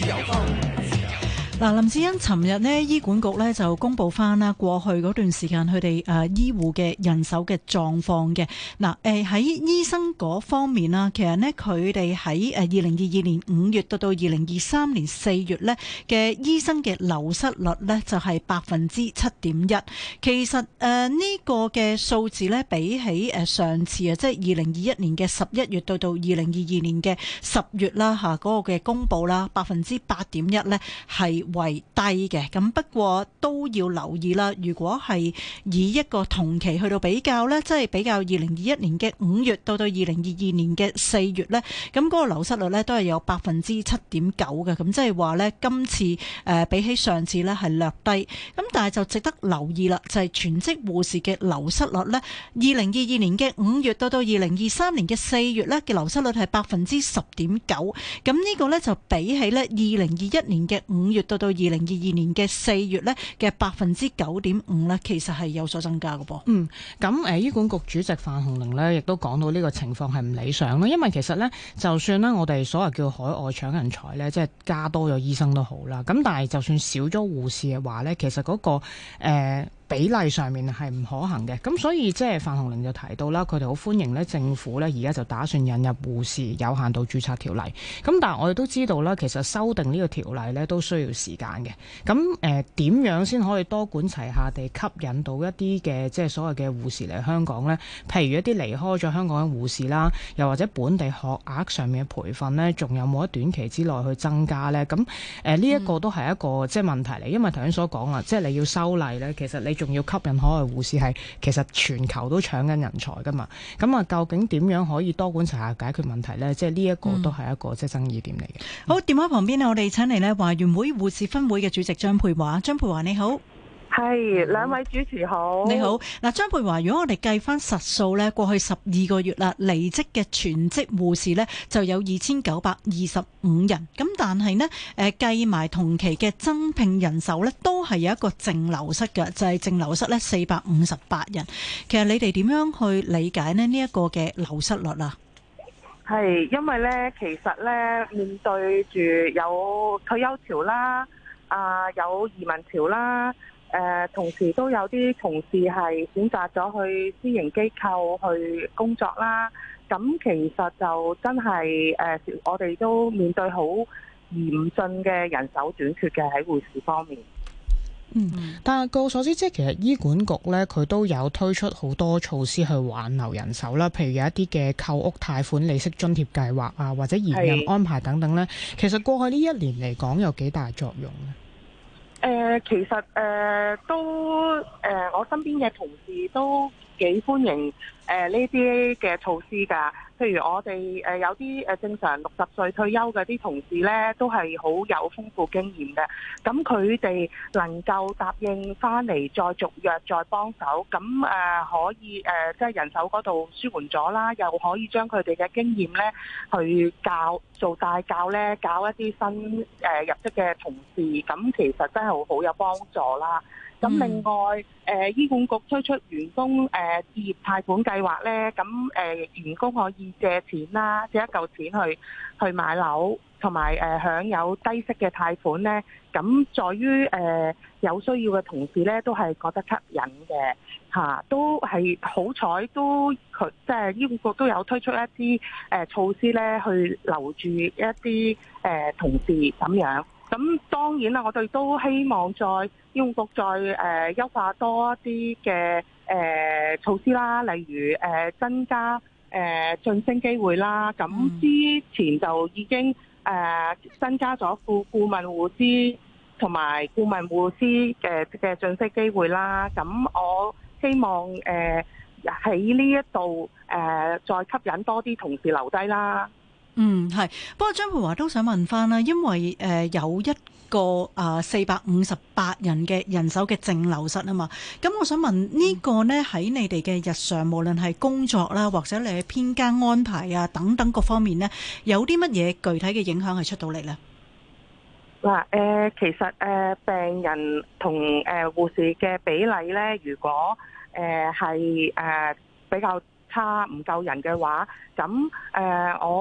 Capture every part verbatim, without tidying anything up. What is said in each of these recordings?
由風。 嗱，林志恩，尋日呢醫管局呢就公布翻啦，過去嗰段時間佢哋誒醫護嘅人手嘅狀況嘅。嗱，誒喺醫生嗰方面啦，其實呢，佢哋喺誒二零二二年五月到到二零二三年四月呢嘅醫生嘅流失率呢就係百分之七點一。其實誒呢個嘅數字呢，比起誒上次啊，即係二零二一年嘅十一月到到二零二二年嘅十月啦嚇嗰個嘅公佈啦，百分之八點一呢係為低嘅。咁不過都要留意啦，如果係以一個同期去到比較呢，即係比較二零二一年嘅五月到到二零二二年嘅四月呢，咁嗰個流失率呢都係有百分之七點九嘅。咁即係話呢，今次誒比起上次呢係略低。咁但係就值得留意啦，就係全職護士嘅流失率呢，二零二二年嘅五月到到二零二三年嘅四月呢嘅流失率係百分之十點九。咁呢個呢，就比起呢二零二一年嘅五月到到二零二二年嘅四月呢嘅百分之九點五呢，其實係有所增加嘅噃。 嗯，咁誒醫管局主席范鴻齡呢亦都講到呢個情況係唔理想啦，因為其實呢，就算呢我哋所謂叫海外搶人才呢，即係加多咗醫生都好啦，咁但係就算少咗護士嘅話呢，其實嗰、那個誒。呃比例上面係唔可行嘅，咁所以即係范鴻齡就提到啦，佢哋好歡迎咧政府咧而家就打算引入護士有限度註冊條例，咁但係我哋都知道啦，其實修訂呢個條例咧都需要時間嘅，咁誒點樣先可以多管齊下地吸引到一啲嘅即係所謂嘅護士嚟香港呢？譬如一啲離開咗香港嘅護士啦，又或者本地學額上面嘅培訓呢，仲有冇喺短期之內去增加呢？咁誒呢一個都係一個即係問題嚟，因為頭先所講啦，即係你要修例呢，其實你仲要吸引海外護士，係其實全球都搶緊人才噶嘛，咁啊究竟點樣可以多管齊下解決問題呢？即係呢一個都係一個即係爭議點嚟嘅。 嗯、好，電話旁邊呢，我哋請嚟呢華員會護士分會嘅主席張佩華。張佩華你好。 係，兩位主持好。 你好，嗱，張佩華，如果我哋計翻實數呢，過去十二個月啦，離職嘅全職護士呢就有二千九百二十五人，咁但係呢，誒計埋同期嘅增聘人手呢，都係有一個淨流失嘅，就係、是、淨流失呢四百五十八人。其實你哋點樣去理解呢呢一個嘅流失率啊？ 係因為呢，其實呢，面對住有退休潮啦，啊有移民潮啦。誒、呃，同時都有啲同事係選擇咗去私營機構去工作啦。咁其實就真係誒、呃，我哋都面對好嚴峻嘅人手短缺嘅喺護士方面。 嗯，但係據我所知，即係其實醫管局咧，佢都有推出好多措施去挽留人手啦。譬如有一啲嘅購屋貸款利息津貼計劃啊，或者延任安排等等咧。其實過去呢一年嚟講，有幾大作用咧？ 誒、呃，其實誒、呃、都誒、呃，我身邊嘅同事都幾歡迎誒呢啲嘅措施㗎。譬如我哋誒、呃、有啲誒正常六十歲退休嘅啲同事咧，都係好有豐富經驗嘅。咁佢哋能夠答應翻嚟再續約再幫手，咁誒、呃、可以誒、呃、即係人手嗰度舒緩咗啦，又可以將佢哋嘅經驗咧去教做帶教咧，教一啲新誒、呃、入職嘅同事，咁其實真係好有幫助啦。咁另外，誒、呃、醫管局推出員工誒、呃、置業貸款計劃咧，咁誒、呃、員工可以借錢啦，借一嚿錢去去買樓，同埋誒享有低息嘅貸款咧。咁在於誒、呃、有需要嘅同事咧，都係覺得吸引嘅嚇、啊，都係好彩都佢即係醫管局都有推出一啲誒、呃、措施咧，去留住一啲誒、呃、同事咁樣。咁當然啦，我哋都希望再醫管局再誒、呃、優化多一啲嘅誒措施啦，例如誒、呃、增加誒晉、呃、升機會啦。咁之前就已經誒、呃、增加咗副顧問護師同埋顧問護師嘅嘅晉升機會啦。咁我希望誒喺呢一度誒再吸引多啲同事留低啦。 嗯，係。不過張佩華都想問翻啦，因為誒、呃、有一個啊四百五十八人嘅人手嘅淨流失啊嘛，咁我想問呢個呢，喺你哋嘅日常，無論係工作啦，或者你嘅編更安排啊等等各方面呢，有啲乜嘢具體嘅影響係出到嚟呢？ 嗱，誒其實誒、呃、病人同誒、呃、護士嘅比例呢，如果誒係誒比較差唔夠人嘅話，咁誒、呃、我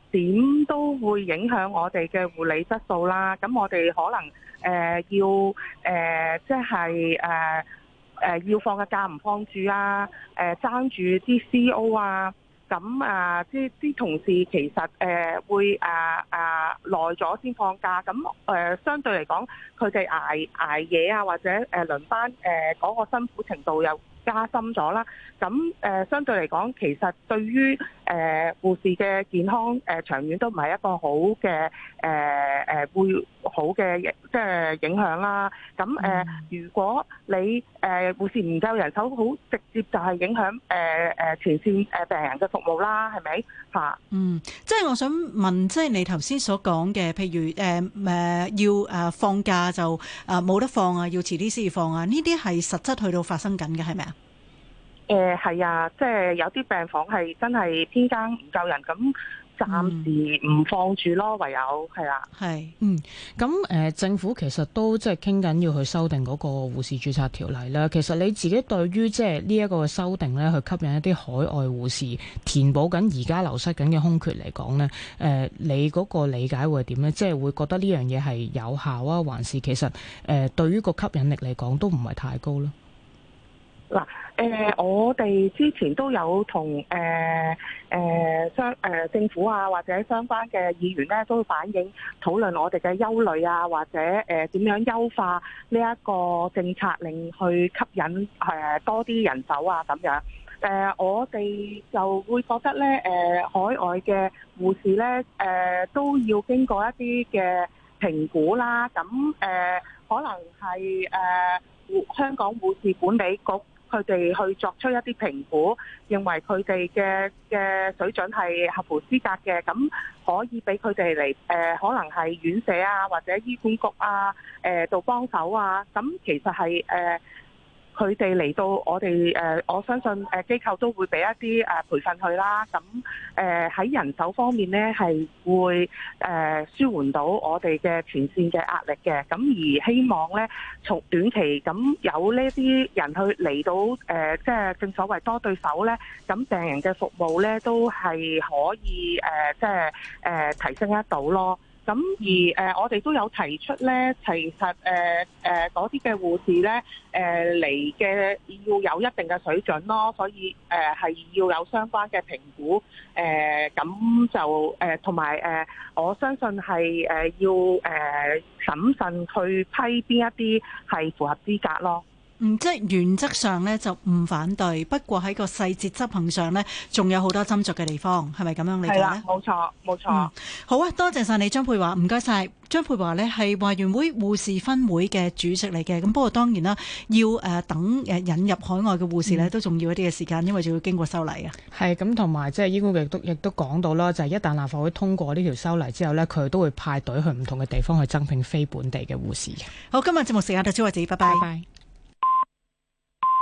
點都會影響我哋嘅護理質素啦。咁我哋可能誒、呃、要誒、呃、即係誒誒要放嘅假唔放住啊，誒爭住啲 C O 啊。咁啊，啲啲同事其實誒、呃、會啊啊耐咗先放假，咁誒、呃、相對嚟講，佢哋捱捱夜啊，或者誒輪班誒嗰、呃個辛苦程度又加深咗啦。咁誒、呃、相對嚟講，其實對於誒、呃、護士嘅健康誒、呃、長遠都唔係一個好嘅誒誒會好嘅即係影響啦。咁誒、呃，如果你誒、呃、護士唔夠人手，好直接就係影響誒誒、呃、前線誒病人嘅服務啦，係咪嚇？ 嗯，即係我想問，即係你頭先所講嘅，譬如誒誒、呃、要誒放假就誒冇得放啊，要遲啲先至放啊，呢啲係實質去到發生緊嘅，係咪啊？ 誒係啊，即係有啲病房係真係偏更唔夠人，咁暫時唔放住咯，唯有係啦。 係， 嗯，咁誒、呃、政府其實都即係傾緊要去修訂嗰個護士註冊條例啦。其實你自己對於即係呢一個修訂咧，去吸引一啲海外護士填補緊而家流失緊嘅空缺嚟講咧，誒、呃、你嗰個理解會係點咧？即係會覺得呢樣嘢係有效啊，還是其實誒、呃、對於個吸引力嚟講都唔係太高咧？ 嗱，誒，我哋之前都有同誒誒相誒政府啊，或者相關嘅議員咧，都會反映討論我哋嘅憂慮啊，或者誒點樣優化呢一個政策，令去吸引誒多啲人手啊咁樣。誒，我哋就會覺得咧，誒海外嘅護士咧，誒都要經過一啲嘅評估啦。咁誒可能係誒香港護士管理局，佢哋去作出一啲評估，認為佢哋嘅嘅水準係合乎資格嘅，咁可以俾佢哋嚟誒，可能係院舍啊，或者醫管局啊，誒度幫手啊。咁其實係誒佢哋嚟到我哋誒，我相信誒機構都會俾一啲誒培訓佢啦。咁誒喺人手方面咧，係會誒舒緩到我哋嘅前線嘅壓力嘅。咁而希望咧，從短期咁有呢啲人去嚟到誒，即係正所謂多對手咧，咁病人嘅服務咧都係可以誒，即係誒提升得到咯。咁而誒、呃，我哋都有提出咧，其實誒誒嗰啲嘅護士咧，誒嚟嘅要有一定嘅水準咯，所以誒係、呃、要有相關嘅評估，誒、呃、咁就誒同埋誒，我相信係誒、呃、要誒、呃、審慎去批邊一啲係符合資格咯。 嗯，即係原則上咧就唔反對，不過喺個細節執行上咧，仲有好多斟酌嘅地方，係咪咁樣理解咧？係啦， 冇錯，冇錯。 嗯，好啊，多謝晒你張佩華，唔該晒。張佩華呢係華員會護士分會嘅主席嚟嘅，咁不過當然啦，要誒等誒引入海外嘅護士呢，嗯、都仲要一啲嘅時間，因為仲要經過修例啊。係咁，同埋即係醫管局亦都亦都講到啦，就係、是、一旦立法會通過呢條修例之後呢，佢都會派隊去唔同嘅地方去增聘非本地嘅護士嘅。好，今日節目時間到此為止，拜拜。拜拜。